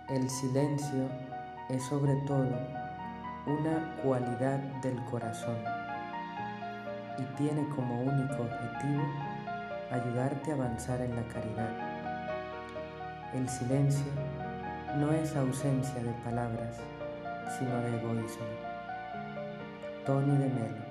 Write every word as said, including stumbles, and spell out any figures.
El silencio es sobre todo una cualidad del corazón y tiene como único objetivo ayudarte a avanzar en la caridad. El silencio no es ausencia de palabras, sino de egoísmo. Tony de Melo.